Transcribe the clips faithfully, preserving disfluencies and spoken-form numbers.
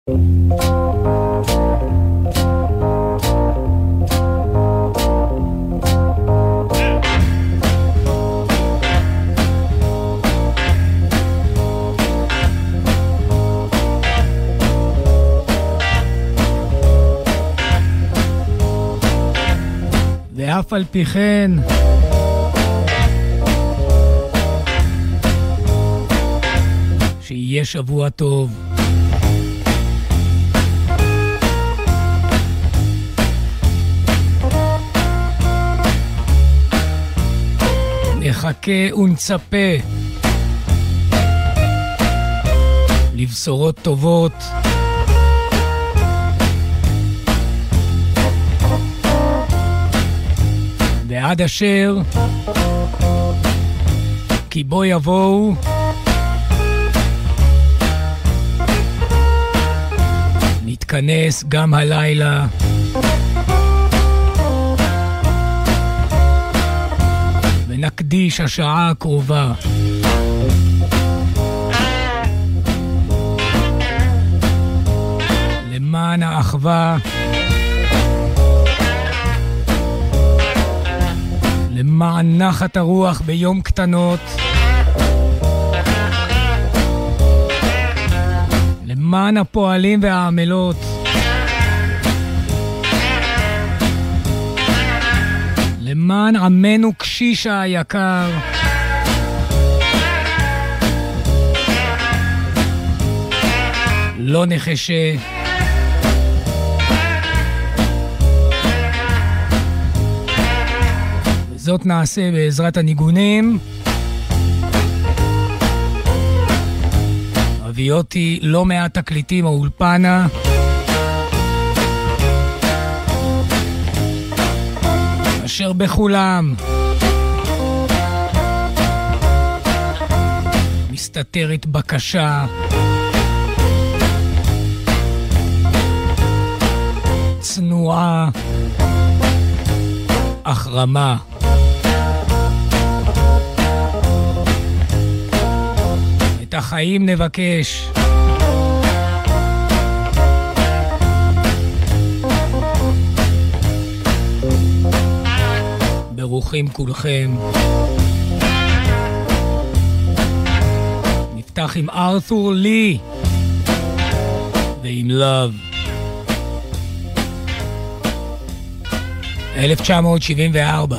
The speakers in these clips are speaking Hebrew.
ואף על פי כן שיהיה שבוע טוב. נחכה ונצפה לבשורות טובות ועד אשר כי בו יבואו נתכנס גם הלילה ונקדיש השעה הקרובה למען האחווה, למען נחת הרוח ביום קטנות, למען הפועלים והעמלות, למען עמנו קשישה היקר, לא נחשה זאת נעשה בעזרת הניגונים. הביא אותי לא מעט תקליטים האולפנה, אשר בכולם מסתתרת בקשה צנועה אך רמה. את החיים נבקש, ברוכים כולכם. נפתח עם ארתור לי ועם לב. אלף תשע מאות שבעים וארבע.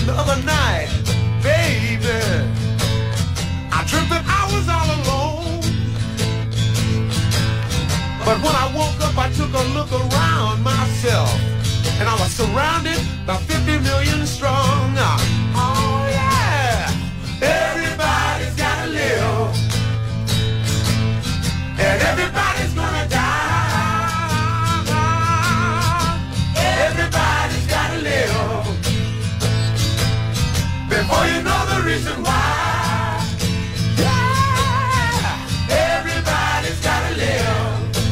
the other night, baby, I dreamt that I was all alone. But when I woke up, I took a look around myself, and I was surrounded by fifty million strong. Oh yeah, everybody's gotta live, and everybody's gonna die. Everybody's gotta live before you know the reason why. Yeah, everybody's gotta live,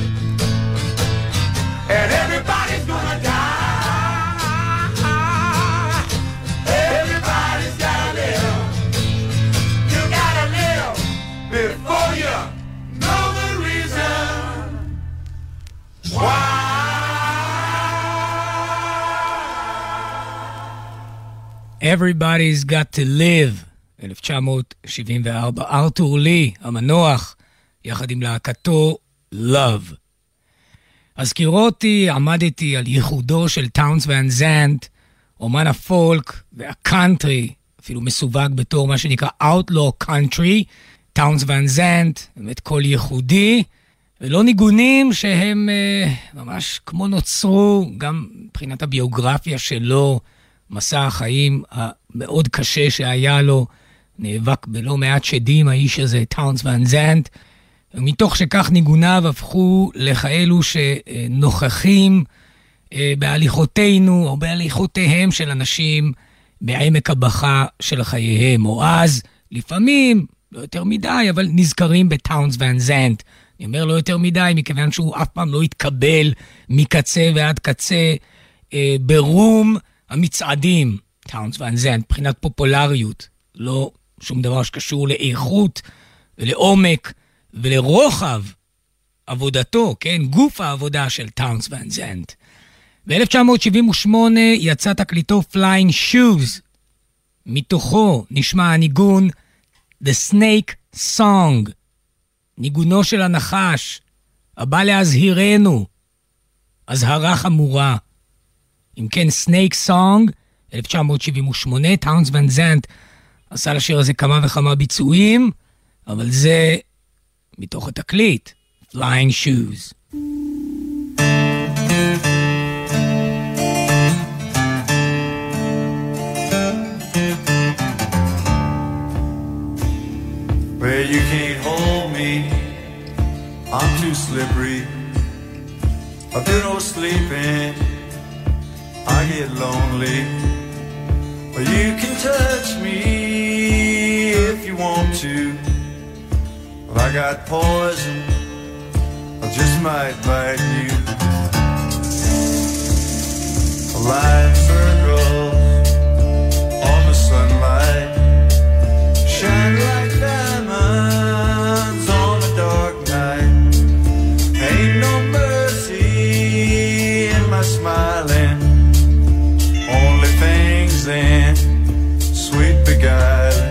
and everybody's gonna die. Everybody's gotta live. You gotta live before you know the reason why. Everybody's got to live, אלף תשע מאות שבעים וארבע, ארתור לי, המנוח, יחד עם להקתו Love. אז קירותי, עמדתי על ייחודו של טאונס ואן זנט, אומן הפולק והקאנטרי, אפילו מסווג בתור מה שנקרא Outlaw Country, טאונס ואן זנט, באמת קול ייחודי, ולא ניגונים שהם אה, ממש כמו נוצרו, גם מבחינת הביוגרפיה שלו, מסע החיים המאוד קשה שהיה לו, נאבק בלא מעט שדים האיש הזה, טאונס ואן זנט, ומתוך שכך ניגוניו הפכו לכאלו שנוכחים בהליכותינו או בהליכותיהם של אנשים בעמק הבכה של חייהם, או אז לפעמים, לא יותר מדי, אבל נזכרים בטאונס ואן זנט. אני אומר לא יותר מדי, מכיוון שהוא אף פעם לא התקבל מקצה ועד קצה אה, ברום המצעדים, טאונס ואן זנט, מבחינת פופולריות, לא שום דבר שקשור לאיכות ולעומק ולרוחב עבודתו, כן, גוף העבודה של טאונס ואן זנט. ב-אלף תשע מאות שבעים ושמונה יצא תקליטו Flying Shoes, מתוכו נשמע הניגון The Snake Song, ניגונו של הנחש, הבא להזהירנו, הזהרה חמורה. אם כן, Snake Song, אלף תשע מאות שבעים ושמונה, טאונס ואן זנט עשה לשיר הזה כמה וכמה ביצועים, אבל זה מתוך התקליט, Flying Shoes. Well, you can't hold me, I'm too slippery. I do no sleeping, I get lonely. Well, you can touch me if you want to. Well, I got poison, I just might bite you. Light circles on the sunlight, shine like diamonds on a dark night. Ain't no mercy in my smiling, only things then sweet beguiling.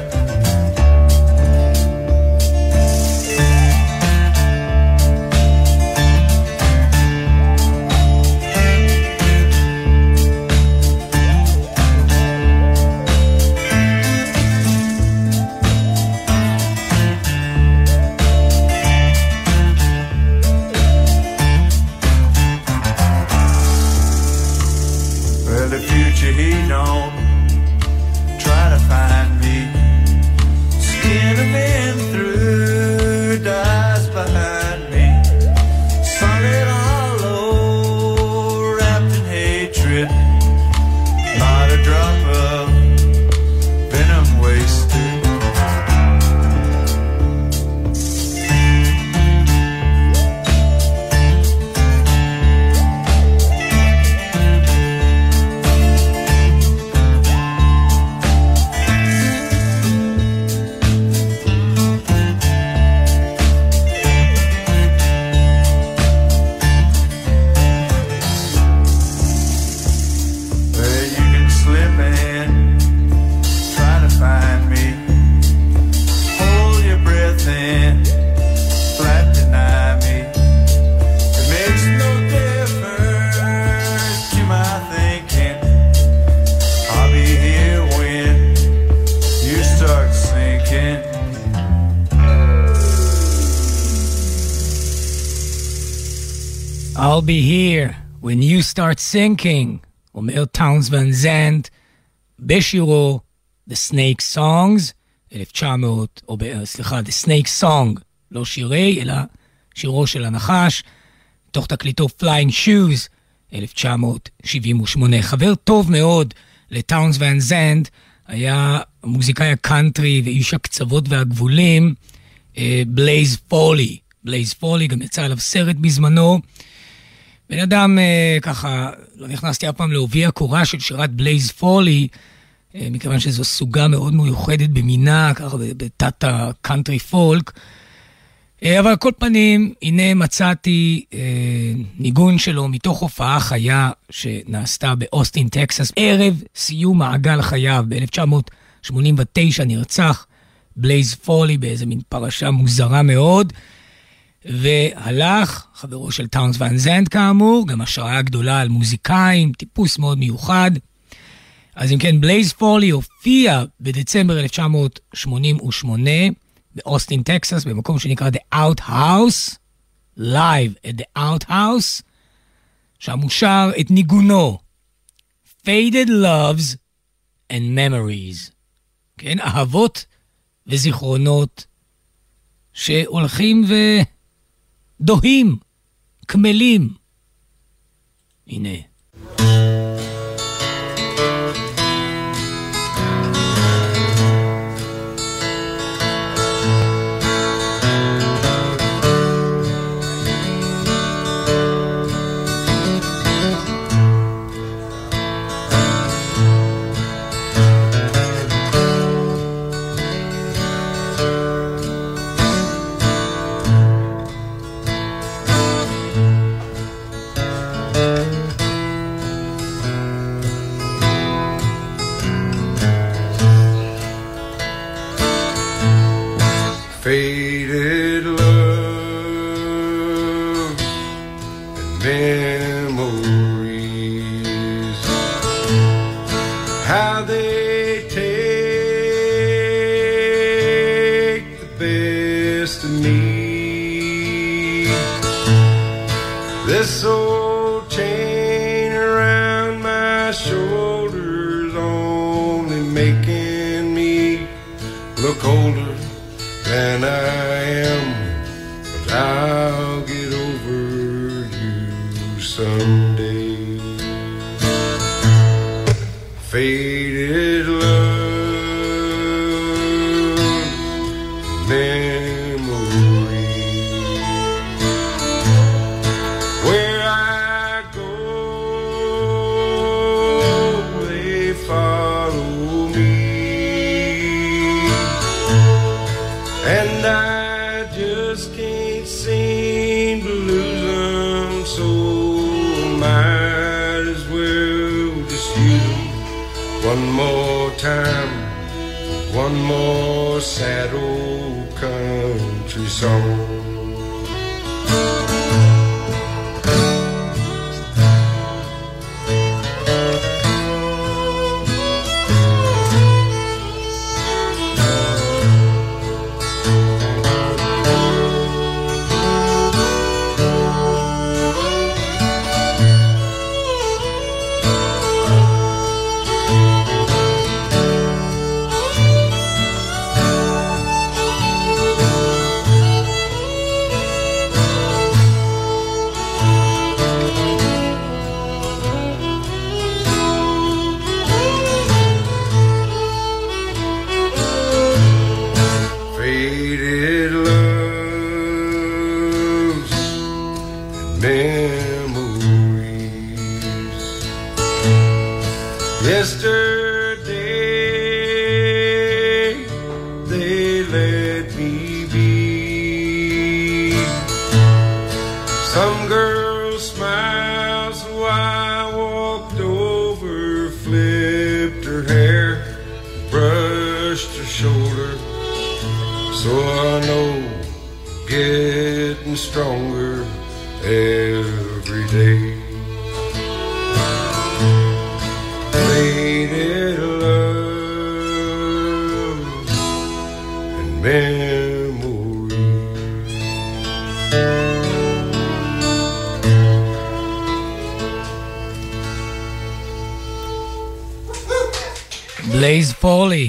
I'll be here when you start sinking, אומר טאונס ון זנט בשירו The Snake Songs, אלף תשע מאות, או סליחה, The Snake Song, לא שירי, אלא שירו של הנחש, תוך תקליטו Flying Shoes, אלף תשע מאות שבעים ושמונה. חבר טוב מאוד לטאונס ון זנט, היה מוזיקאי הקאנטרי ואיש הקצוות והגבולים, בלייז פולי. בלייז פולי, גם יצא עליו סרט בזמנו. בן אדם, ככה, לא נכנסתי אף פעם להוביע קורה של שירת בלייז פולי, מכיוון שזו סוגה מאוד מיוחדת במינה, ככה בתת הקאנטרי פולק. אבל על כל פנים, הנה מצאתי ניגון שלו מתוך הופעה חיה שנעשתה באוסטין, טקסס. ערב סיום מעגל חייו, ב-אלף תשע מאות שמונים ותשע נרצח בלייז פולי באיזה מין פרשה מוזרה מאוד, והלך, חברו של טאונס ון זנט כאמור, גם השראה גדולה על מוזיקאים, טיפוס מאוד מיוחד. אז אם כן, בלייז פולי הופיע בדצמבר אלף תשע מאות שמונים ושמונה באוסטין, טקסס, במקום שנקרא The Outhouse, Live at the Outhouse, שם הוא שר את ניגונו, Faded Loves and Memories, כן, אהבות וזיכרונות שהולכים ודוהים, כמלים. הנה. Faded love and memories, how they take the best of me. This old chain around my shoulders only making me look older than I am, but I'll get over you someday. Faded love, memories, where I go, they follow me. And I just can't seem to lose them, so I might as well just use them one more time, one more sad old country song. Yesterday they let me be. Some girl smiled, so I walked over, flipped her hair, brushed her shoulder. So I know getting stronger every day. Faded love and memories. בלייז פורלי.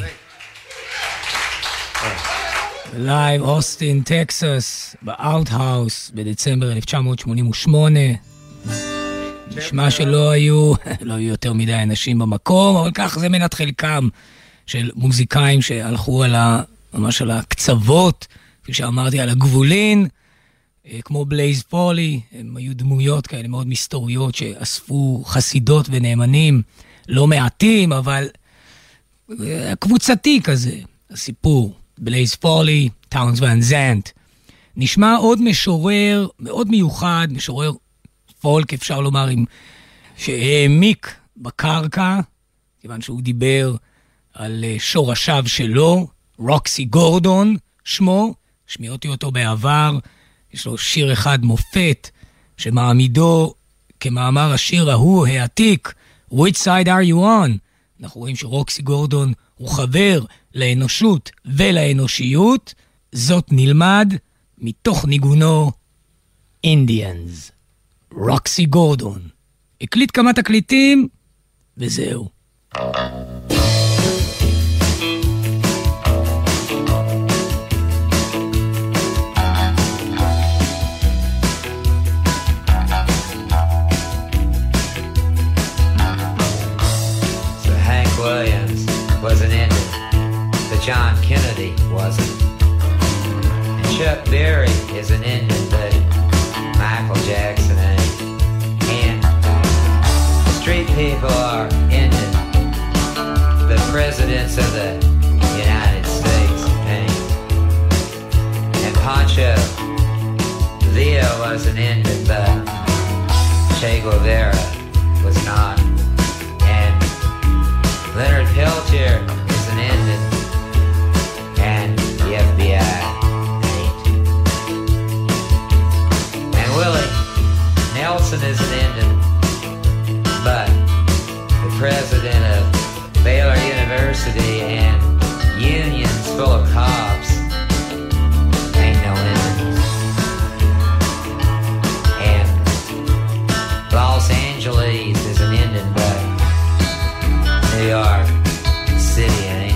לייב אוסטין, טקסס, באאוטהאוס, בדצמבר אלף תשע מאות שמונים ושמונה. נשמע שלא היו, לא היו יותר מדי אנשים במקום, אבל כך זה מנת חלקם של מוזיקאים שהלכו על ה, ממש על הקצוות, כפי שאמרתי, על הגבולין, כמו בלייז פורלי. הם היו דמויות כאלה מאוד מסתוריות שאספו חסידות ונאמנים, לא מעטים, אבל קבוצתי כזה, הסיפור. בלייז פורלי, טאונס ואן זנט. נשמע עוד משורר מאוד מיוחד, משורר פולק, אפשר לומר, עם שהעמיק בקרקע, כיוון שהוא דיבר על שורשיו שלו, רוקסי גורדון שמו, שמיעתי אותו בעבר, יש לו שיר אחד מופת, שמעמידו כמאמר השיר ההוא העתיק, Which side are you on? אנחנו רואים שרוקסי גורדון הוא חבר לאנושות ולאנושיות, זאת נלמד מתוך ניגונו Indians. רוקסי גורדון. הקליט כמה תקליטים, וזהו. Was an Indian, but John Kennedy wasn't. And Chuck Berry is an Indian, but Michael Jackson ain't. And the street people are Indian, but presidents of the United States ain't. And Pancho Villa was an Indian, but Che Guevara was not. Leonard Peltier is an Indian, and the F B I ain't. And Willie Nelson is an Indian, but the president of Baylor University and unions full of cops ain't no Indians. And Los Angeles is an Indian, but New York City ain't.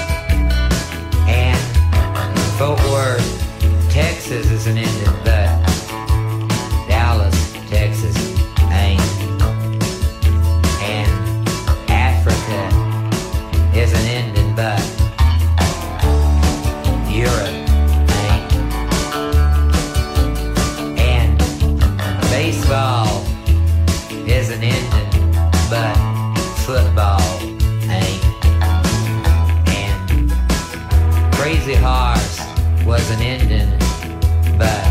And Fort Worth, Texas is an Indian, but Dallas, Texas ain't. And Africa is an Indian, but Europe ain't. And baseball is an Indian, but football ain't. And Crazy Horse was an Indian, but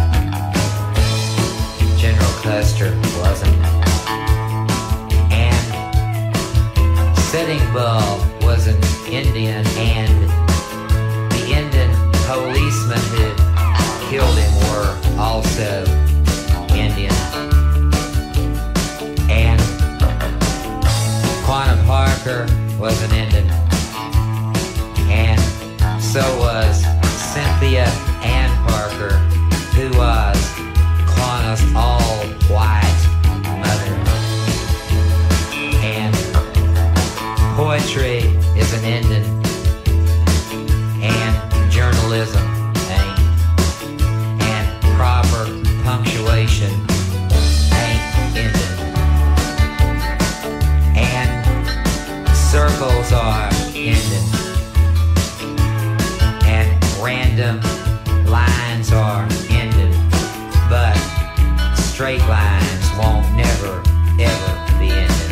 General Custer wasn't. And Sitting Bull was an Indian, and the Indian policemen who killed him were also Indian. And Quanah Parker was an Indian, and so was Cynthia Ann Parker, who was Quanah's all-white mother. And poetry is an Indian, and journalism ain't, and proper punctuation ain't Indian. And circles are Indian, and random lines are Indian, but straight lines won't never, ever be Indian.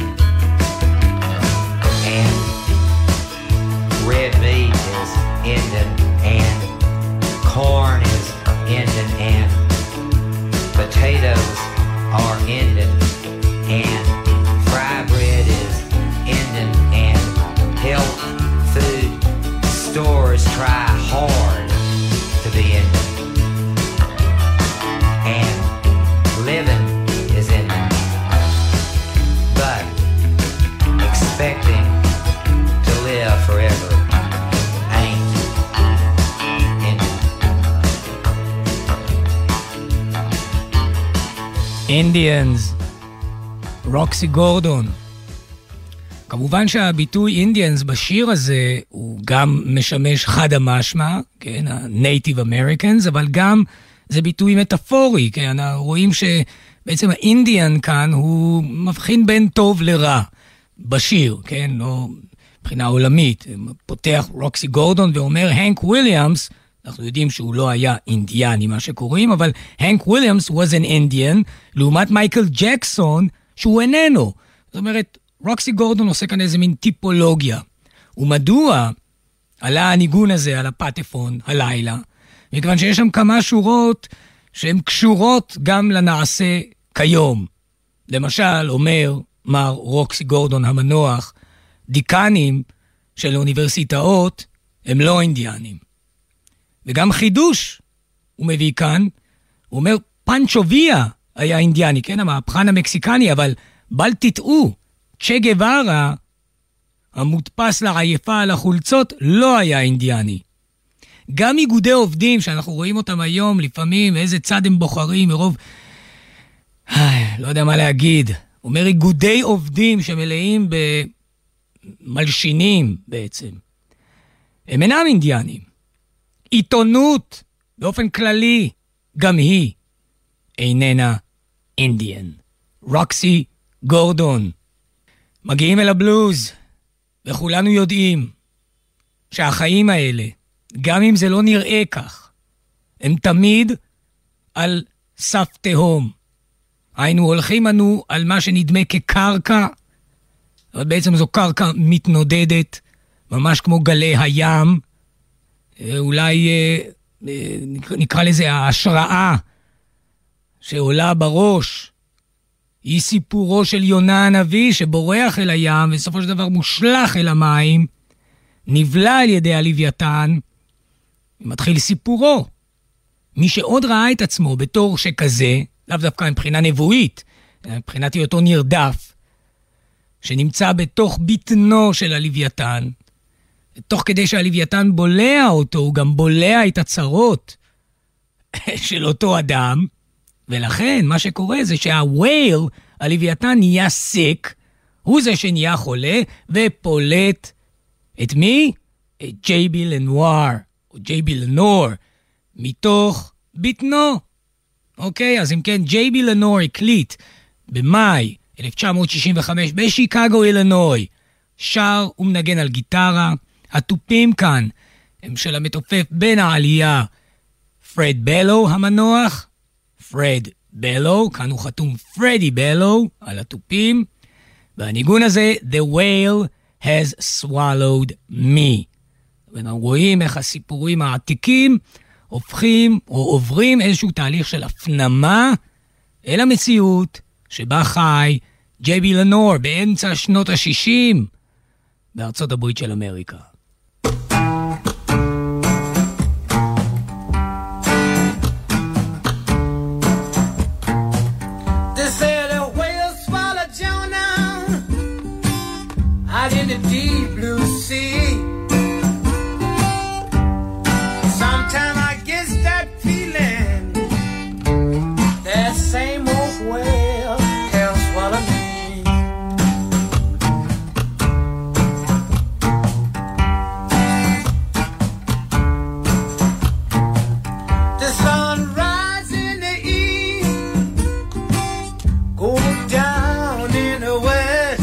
And red meat is Indian, and corn is Indian, and potatoes are Indian, and fry bread is Indian, and health food stores try hard to be Indian. And living is Indian, but expecting to live forever ain't Indian. Indians, רוקסי גורדון. כמובן שהביטוי אינדיאנס בשיר הזה הוא גם משמש חד המשמע, כן, ה-Native Americans, אבל גם זה ביטוי מטאפורי, כן, רואים שבעצם האינדיאן כאן הוא מבחין בין טוב לרע בשיר, כן, לא מבחינה עולמית. פותח רוקסי גורדון ואומר, הנק וויליאמס, אנחנו יודעים שהוא לא היה אינדיאני מה שקוראים, אבל הנק וויליאמס was an Indian, לעומת מייקל ג'קסון שהוא איננו. זאת אומרת, רוקסי גורדון עושה כאן איזה מין טיפולוגיה. ומדוע עלה הניגון הזה על הפטפון הלילה? מכיוון שיש שם כמה שורות שהן קשורות גם לנעשה כיום. למשל, אומר מר רוקסי גורדון המנוח, דיקנים של אוניברסיטאות הם לא אינדיאנים. וגם חידוש הוא מביא כאן, הוא אומר, פנצ'ו ויה היה אינדיאני, כן, המהפכן המקסיקני, אבל בל תטעו, צ'ה גווארה, המודפס לעייפה על החולצות, לא היה אינדיאני. גם איגודי עובדים, שאנחנו רואים אותם היום, לפעמים, איזה צד הם בוחרים, מרוב, לא יודע מה להגיד, אומר איגודי עובדים שמלאים במלשינים בעצם. הם אינם אינדיאנים. עיתונות, באופן כללי, גם היא איננה אינדיאן. רוקסי גורדון. מגיעים אל הבלוז, וכולנו יודעים שהחיים האלה, גם אם זה לא נראה כך, הם תמיד על סף תהום. היינו הולכים לנו על מה שנדמה כקרקע, אבל בעצם זו קרקע מתנודדת, ממש כמו גלי הים, אולי נקרא לזה ההשראה שעולה בראש, היא סיפורו של יונה הנביא שבורח אל הים וסופו של דבר מושלח אל המים, נבלע על ידי הלוויתן, ומתחיל סיפורו. מי שעוד ראה את עצמו בתור שכזה, לאו דווקא מבחינה נבואית, מבחינת היותו נרדף, שנמצא בתוך בטנו של הלוויתן, תוך כדי שהלוויתן בולע אותו, הוא גם בולע את הצרות של אותו אדם, ולכן מה שקורה זה שהווייל, הלוויתן נהיה סיק, הוא זה שנהיה חולה, ופולט את מי? את ג'יי בי לנואר, או ג'יי בי לנור, מתוך בטנו. אוקיי, אז אם כן, ג'יי בי לנור הקליט במאי אלף תשע מאות שישים וחמש בשיקגו, אילינוי, שר ומנגן על גיטרה. הטופים כאן הם של המתופף בין העלייה פרד בלו המנוח, פרד בלו, כאן הוא חתום פרדי בלו על הטופים, והניגון הזה The whale has swallowed me. ואנחנו רואים איך הסיפורים העתיקים הופכים או עוברים איזשהו תהליך של הפנמה אל המציאות שבה חי ג'יי בי לנור באמצע שנות ה-שישים בארצות הברית של אמריקה. In the deep blue sea, sometimes I get that feeling that same old whale can swallow me. The sun rises in the east, goes down in the west.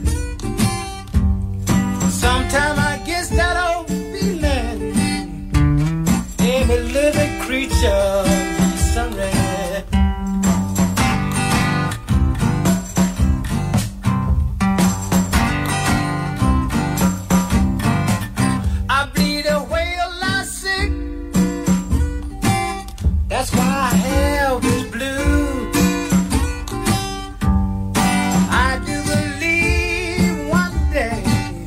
Sometimes I get that old feeling, every living creature needs some rest. I bleed a whale lot sick, that's why I have this blues. I do believe one day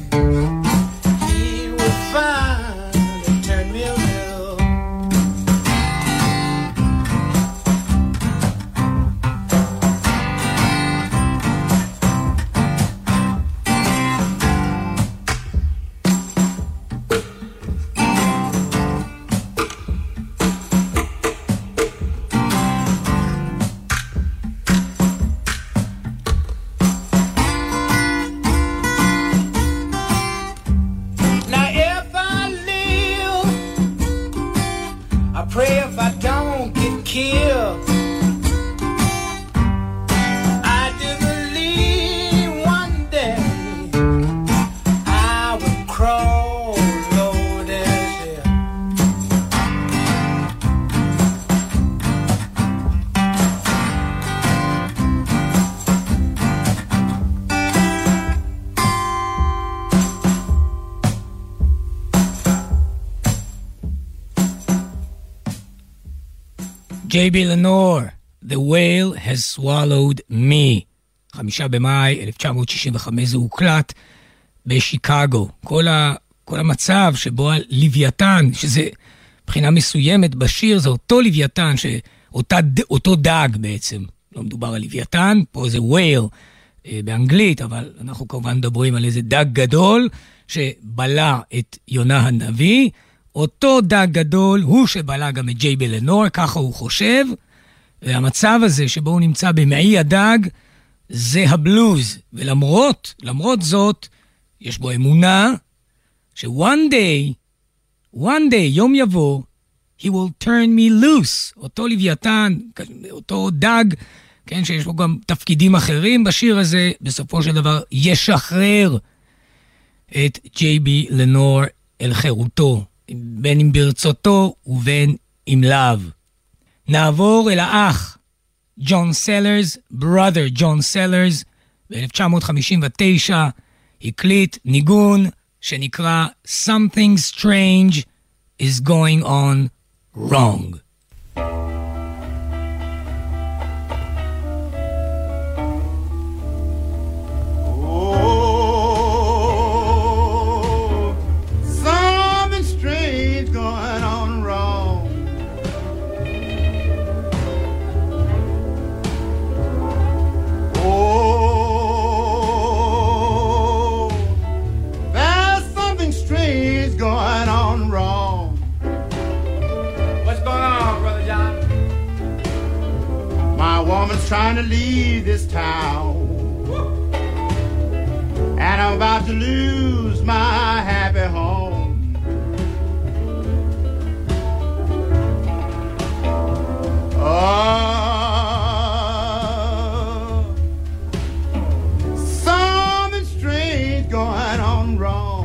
find and turn me around. kill. I do believe one day I will crawl over this hill. ג'יי בי לנור, The Whale Has Swallowed Me. חמישה במאי אלף תשע מאות שישים וחמש זה הוקלט בשיקגו. כל, ה, כל המצב שבו הלוויתן, שזה מבחינה מסוימת בשיר, זה אותו לוויתן, שאותה, אותו דג בעצם. לא מדובר על לוויתן, פה זה whale אה, באנגלית, אבל אנחנו כמובן מדברים על איזה דג גדול שבלע את יונה הנביא. אותו דג גדול הוא שבלע גם את ג'יי בי לנור, ככה הוא חושב, והמצב הזה שבו הוא נמצא במעי הדג, זה הבלוז, ולמרות, למרות זאת, יש בו אמונה, ש-one day, one day, יום יבוא, he will turn me loose, אותו לוויתן, אותו דג, כן, שיש בו גם תפקידים אחרים בשיר הזה, בסופו של דבר ישחרר את ג'יי בי לנור אל חירותו, בין אם ברצותו ובין אם לאו. נעבור אל האח, ג'ון סלרס, brother ג'ון סלרס, ב-אלף תשע מאות חמישים ותשע הקליט ניגון שנקרא Something Strange is Going On Wrong. Trying to leave this town, and I'm about to lose my happy home. Oh, something strange going on wrong.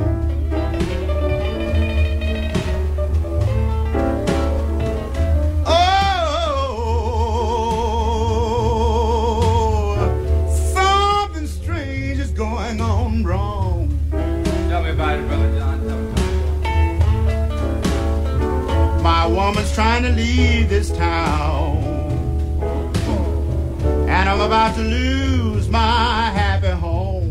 Woman's trying to leave this town, and I'm about to lose my happy home.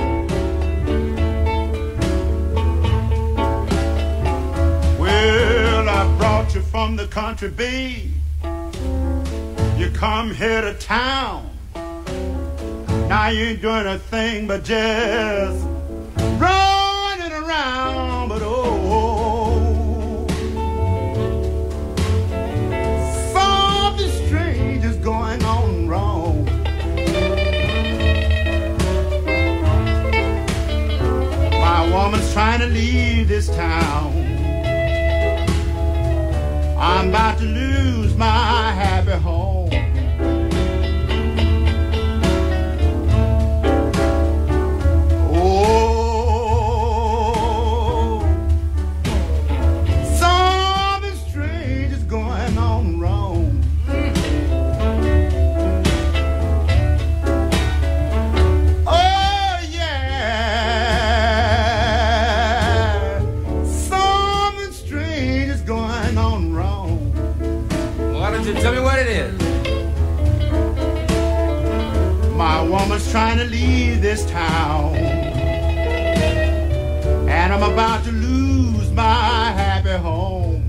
Well, I brought you from the country, babe. You come here to town. Now you ain't doing a thing but just running around, but oh, going on wrong. My woman's trying to leave this town. I'm about to lose my happy home. Oh, something strange is going on wrong. Tell me what it is. My woman's trying to leave this town, and I'm about to lose my happy home.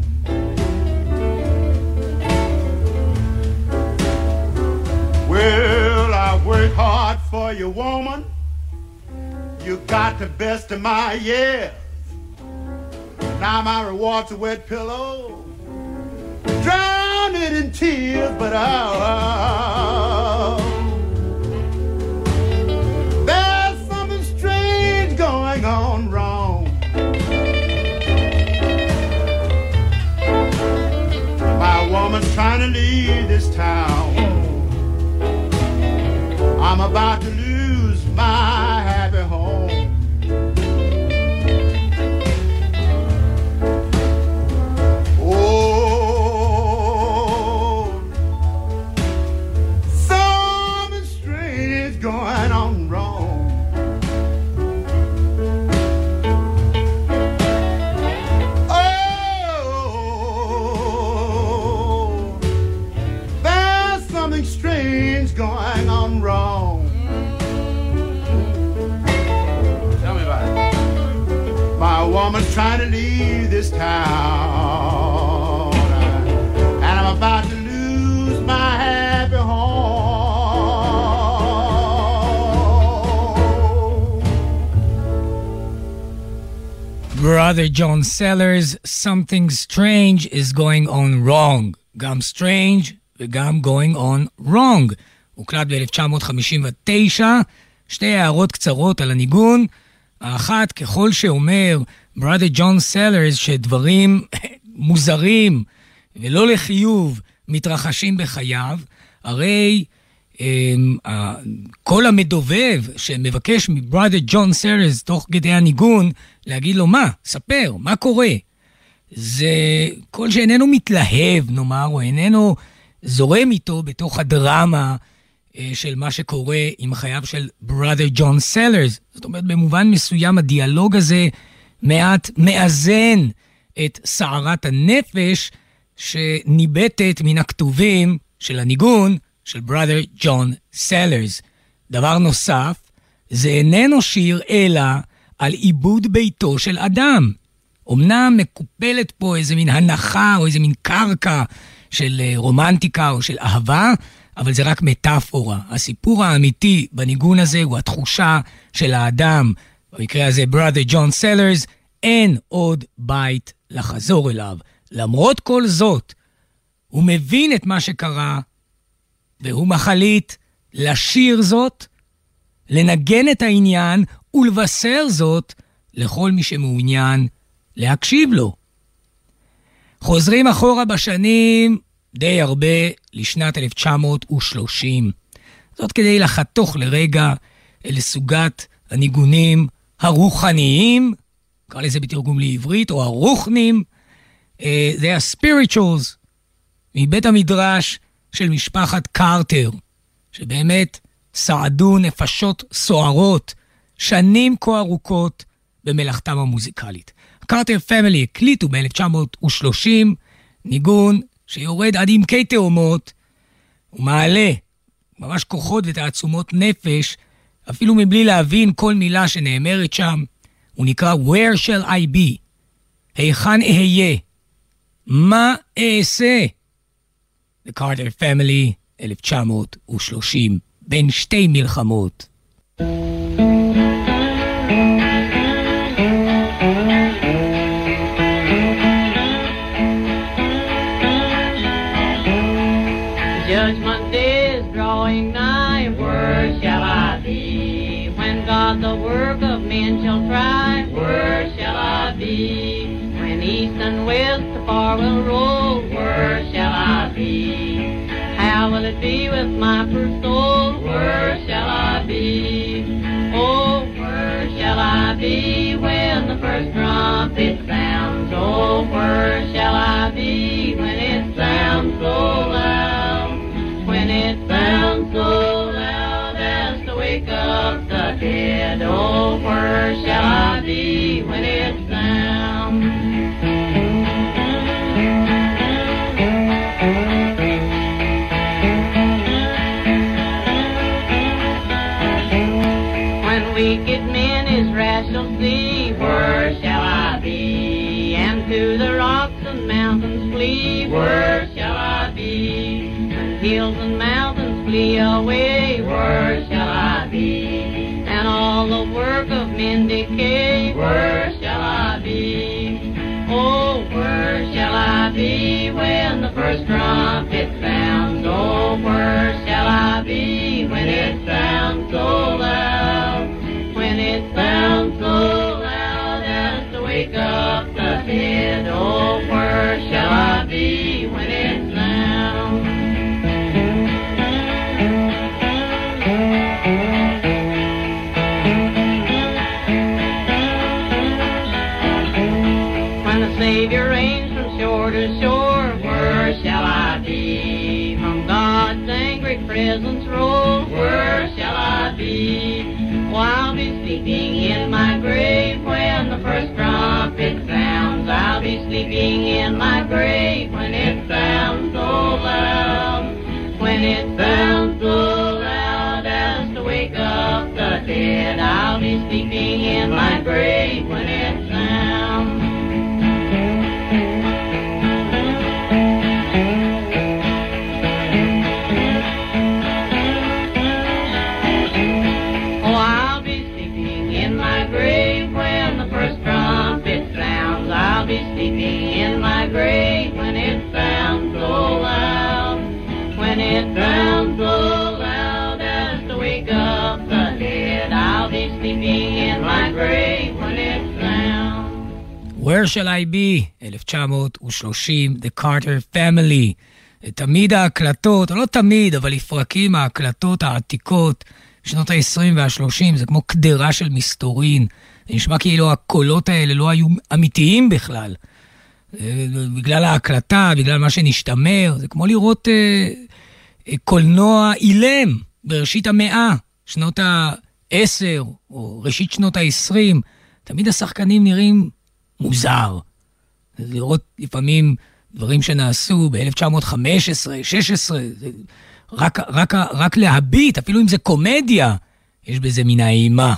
Well, I work hard for you, woman. You got the best of my years. Now my reward's a wet pillow, drown it in tears, but oh, there's something strange going on wrong. My woman's trying to leave leave this town. I'm about to lose my happy home. Oh, something strange is going on wrong. Oh, there's something strange going on wrong. Tell me about it. My woman's trying to leave this town, and I'm about to lose my happy home. Brother John Sellers, something strange is going on wrong. גם strange וגם going on wrong. הוקלט ב-אלף תשע מאות חמישים ותשע, שתי הערות קצרות על הניגון. האחת, ככל שאומר ברother ג'ון סלרס שדברים מוזרים ולא לחיוב מתרחשים בחייו, הרי הם, כל המדובב שמבקש מברother ג'ון סלרס תוך כדי הניגון להגיד לו מה, ספר, מה קורה? זה כל שאיננו מתלהב, נאמר, או איננו זורם איתו בתוך הדרמה של מה שקורה עם חייו של brother ג'ון סלרס. זאת אומרת, במובן מסוים הדיאלוג הזה מעט מאזן את סערת הנפש שניבטת מן הכתובים של הניגון של brother ג'ון סלרס. דבר נוסף, זה איננו שיר אלא על עיבוד ביתו של אדם. אמנם מקופלת פה איזה מין הנחה או איזה מין קרקע של רומנטיקה או של אהבה, אבל זה רק מטאפורה. הסיפור האמיתי בניגון הזה הוא התחושה של האדם, במקרה הזה brother ג'ון סלרס, אין עוד בית לחזור אליו. למרות כל זאת, הוא מבין את מה שקרה, והוא מחליט לשיר זאת, לנגן את העניין ולבשר זאת לכל מי שמעוניין להקשיב לו. חוזרים אחורה בשנים די הרבה לשנת אלף תשע מאות ושלושים. זאת כדי לחתוך לרגע אל סוגת הניגונים הרוחניים, קרא לזה בתרגום לעברית, או הרוחנים, זה הספיריטואלס, מבית המדרש של משפחת קרטר, שבאמת סעדו נפשות סוערות, שנים כה ארוכות במלאכתם המוזיקלית. קרטר פמילי הקליטו ב-אלף תשע מאות ושלושים ניגון שיורד עד עמקי תאומות, ומעלה ממש כוחות ותעצומות נפש, אפילו מבלי להבין כל מילה שנאמרת שם. הוא נקרא Where shall I be? היכן אהיה? מה אעשה? The Carter Family, אלף תשע מאות ושלושים, בין שתי מלחמות. Judgment day is drawing nigh, where shall I be? When God the work of men shall try, where shall I be? When east and west the far will roll, where shall I be? How will it be with my poor soul, where shall I be? Oh, where shall I be when the first trumpet sounds? Oh, where shall I be when it sounds so loud? When it sounds so loud as to wake up the dead. Oh, where shall I be when it sounds? When wicked men his wrath shall see, where shall I be? And to the rocks and mountains flee, where shall I be? Hills and mountains flee away, where shall I be? And all the work of men decay, where shall I be? Oh, where shall I be when the first trumpet sounds? Oh, where shall I be when it sounds so loud? When it sounds so loud as to wake up the dead. Oh, where shall I be when it sounds? presence roll, where shall I be? Oh, I'll be sleeping in my grave when the first trumpet sounds. I'll be sleeping in my grave when it sounds so loud. When it sounds so loud as to wake up the dead. I'll be sleeping in my grave when it sounds. Oh, I'll be sleeping in my grave when the first trumpet sounds. I'll be sleeping in my grave when it sounds so loud. When it sounds so loud as to wake up the dead. I'll be sleeping in my grave when it sounds. Where Shall I Be, אלף תשע מאות ושלושים, The Carter Family. תמיד ההקלטות, או לא תמיד, אבל לפרקים ההקלטות העתיקות, שנות ה-עשרים וה-שלושים, זה כמו קדרה של מסתורין. זה נשמע כאילו הקולות האלה לא היו אמיתיים בכלל. בגלל ההקלטה, בגלל מה שנשתמר, זה כמו לראות אה, אה, קולנוע אילם בראשית המאה, שנות ה-עשר, או ראשית שנות ה-עשרים. תמיד השחקנים נראים מוזר. לראות לפעמים דברים שנעשו ב-אלף תשע מאות חמש עשרה, שש עשרה, זה רק, רק, רק להביט, אפילו אם זה קומדיה, יש בזה מן האימה.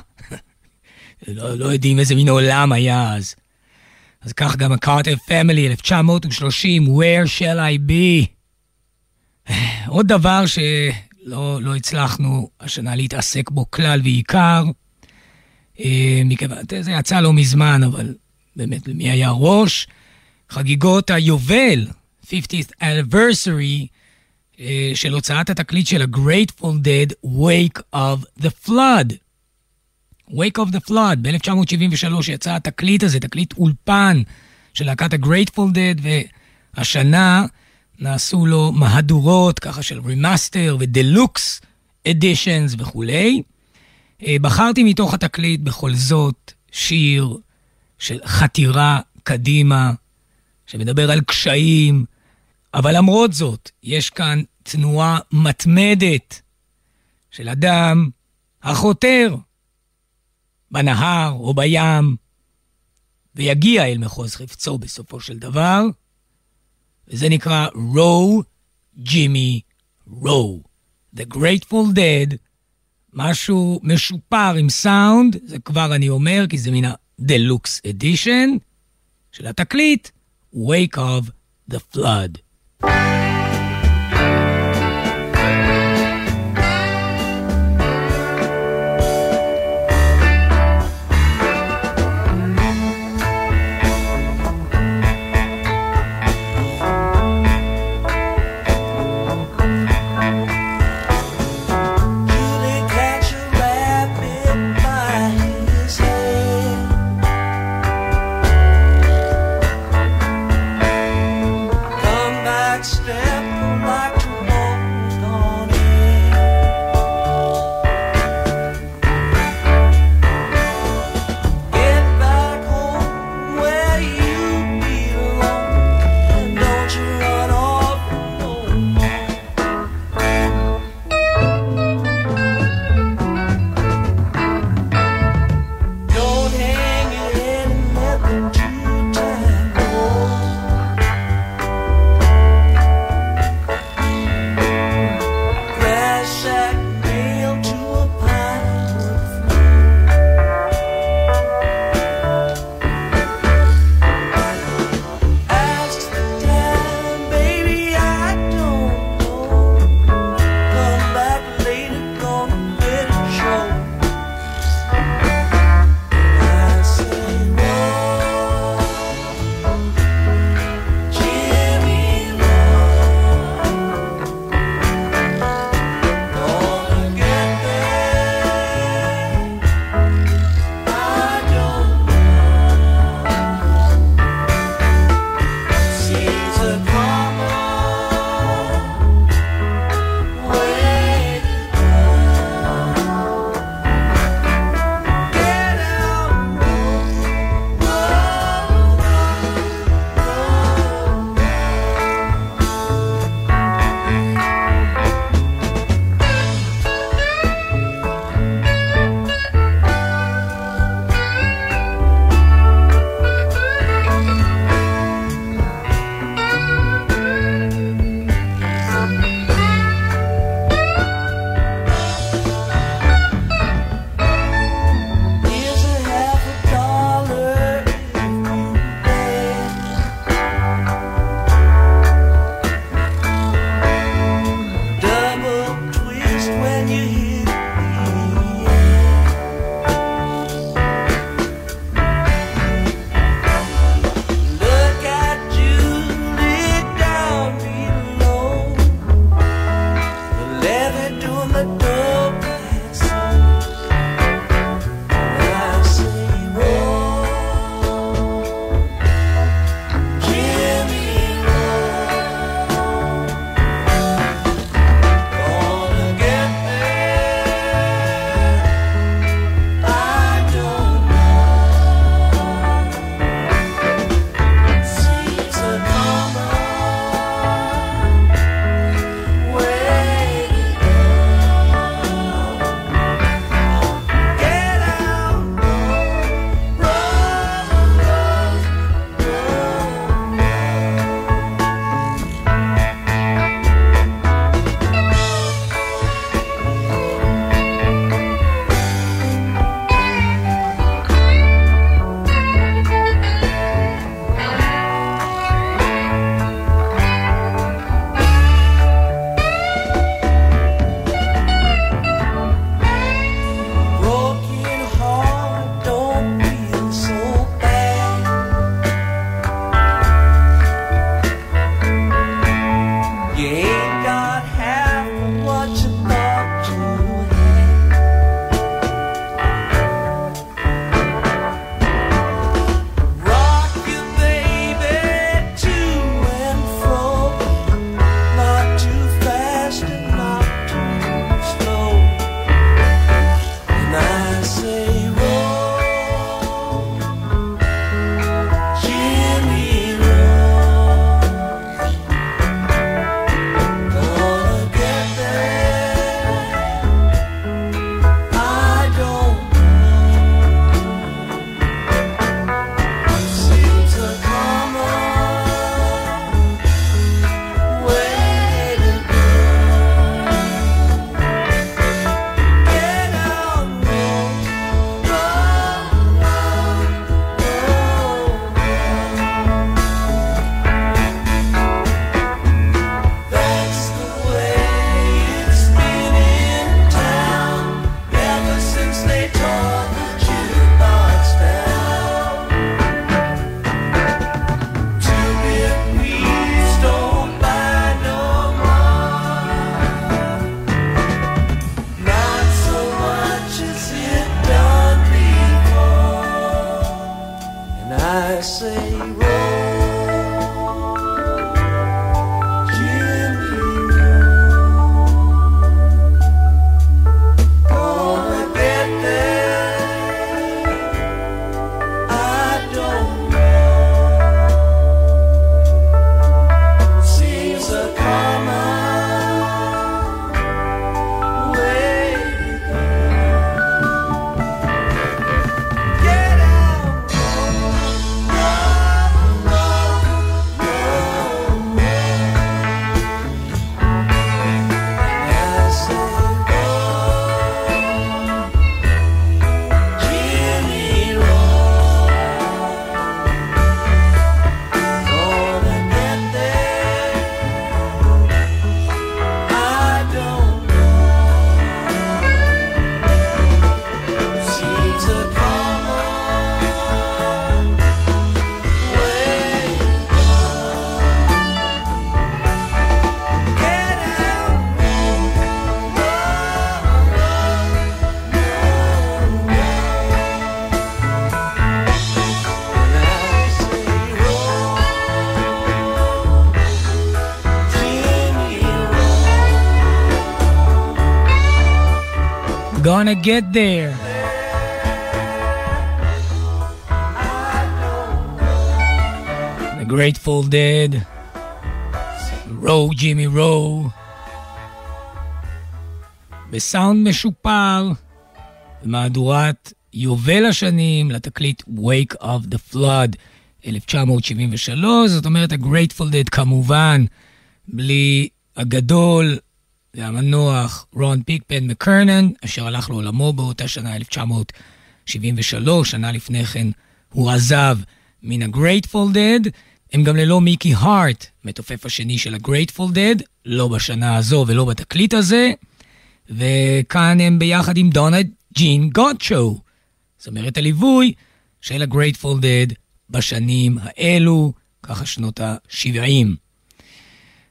לא, לא יודעים איזה מין עולם היה אז. אז כך גם הקארטר פמילי, אלף תשע מאות ושלושים, Where Shall I Be? עוד דבר שלא לא הצלחנו השנה להתעסק בו כלל ועיקר, מכיוון, זה יצא לא מזמן, אבל באמת למי היה ראש, חגיגות היובל, חמישים anniversary, של הוצאת התקליט של ה-Grateful Dead, Wake of the Flood. Wake of the Flood, ב-אלף תשע מאות שבעים ושלוש יצא התקליט הזה, תקליט אולפן של להקת ה-Grateful Dead, והשנה נעשו לו מהדורות, ככה של רמאסטר ודלוקס אדישנס וכולי. בחרתי מתוך התקליט בכל זאת שיר של חתירה קדימה, שמדבר על קשיים, אבל למרות זאת, יש כאן תנועה מתמדת של אדם החותר בנהר או בים, ויגיע אל מחוז חפצו בסופו של דבר, וזה נקרא Row, Jimmy, Row. The Grateful Dead, משהו משופר עם סאונד, זה כבר אני אומר, כי זה מן ה-Deluxe Edition של התקליט, Wake of the Flood. Strength. levy doing the double Gonna get there. The Grateful Dead, רו, ג'ימי רו, בסאונד משופר, במהדורת יובל השנים לתקליט Wake of the Flood אלף תשע מאות שבעים ושלוש, זאת אומרת ה-Grateful Dead כמובן, בלי הגדול, זה המנוח רון פיקפן מקרנן, אשר הלך לעולמו באותה שנה אלף תשע מאות שבעים ושלוש, שנה לפני כן הוא עזב מן ה-Grateful Dead, הם גם ללא מיקי הארט, מתופף השני של ה-Grateful Dead, לא בשנה הזו ולא בתקליט הזה, וכאן הם ביחד עם דונה ג'ין גוטשו, זאת אומרת הליווי של ה-Grateful Dead בשנים האלו, ככה שנות ה-שבעים.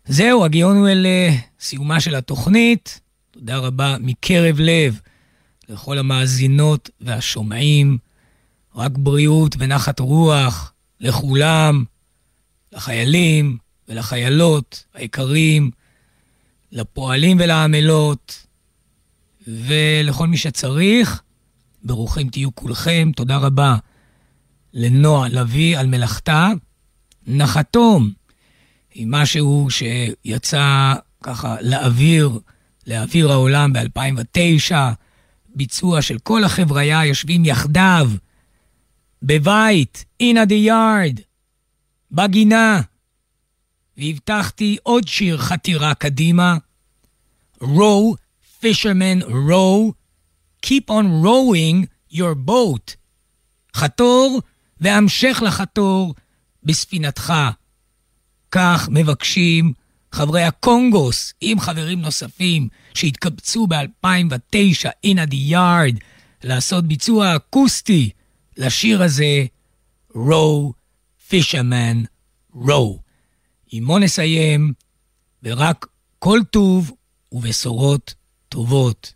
זהו, הגיענו אל סיומה של התוכנית. תודה רבה מקרב לב לכל המאזינות והשומעים. רק בריאות ונחת רוח לכולם, לחיילים ולחיילות היקרים, לפועלים ולעמלות, ולכל מי שצריך. ברוכים תהיו כולכם. תודה רבה לנועה לוי על מלאכתה. נחתום עם משהו שיצא ככה לאוויר, לאוויר העולם ב-אלפיים ותשע, ביצוע של כל החבריה יושבים יחדיו, בבית, in the yard, בגינה, והבטחתי עוד שיר חתירה קדימה, row, fisherman row, keep on rowing your boat, חתור והמשך לחתור בספינתך. כך מבקשים חברי הקונגוס עם חברים נוספים שהתקבצו ב-אלפיים ותשע in the yard לעשות ביצוע אקוסטי לשיר הזה, row, fisherman row. עמו נסיים ורק כל טוב ובשורות טובות.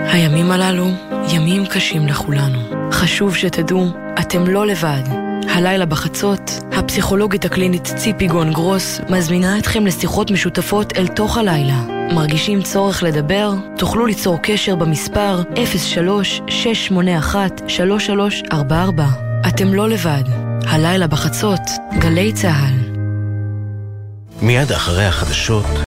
הימים הללו ימים קשים לכולנו. חשוב שתדעו, אתם לא לבד. הלילה בחצות, הפסיכולוגית הקלינית ציפי גון גרוס מזמינה אתכם לשיחות משותפות אל תוך הלילה. מרגישים צורך לדבר? תוכלו ליצור קשר במספר אפס שלוש שש שמונה אחת שלוש שלוש ארבע ארבע. אתם לא לבד. הלילה בחצות, גלי צהל. מיד אחרי החדשות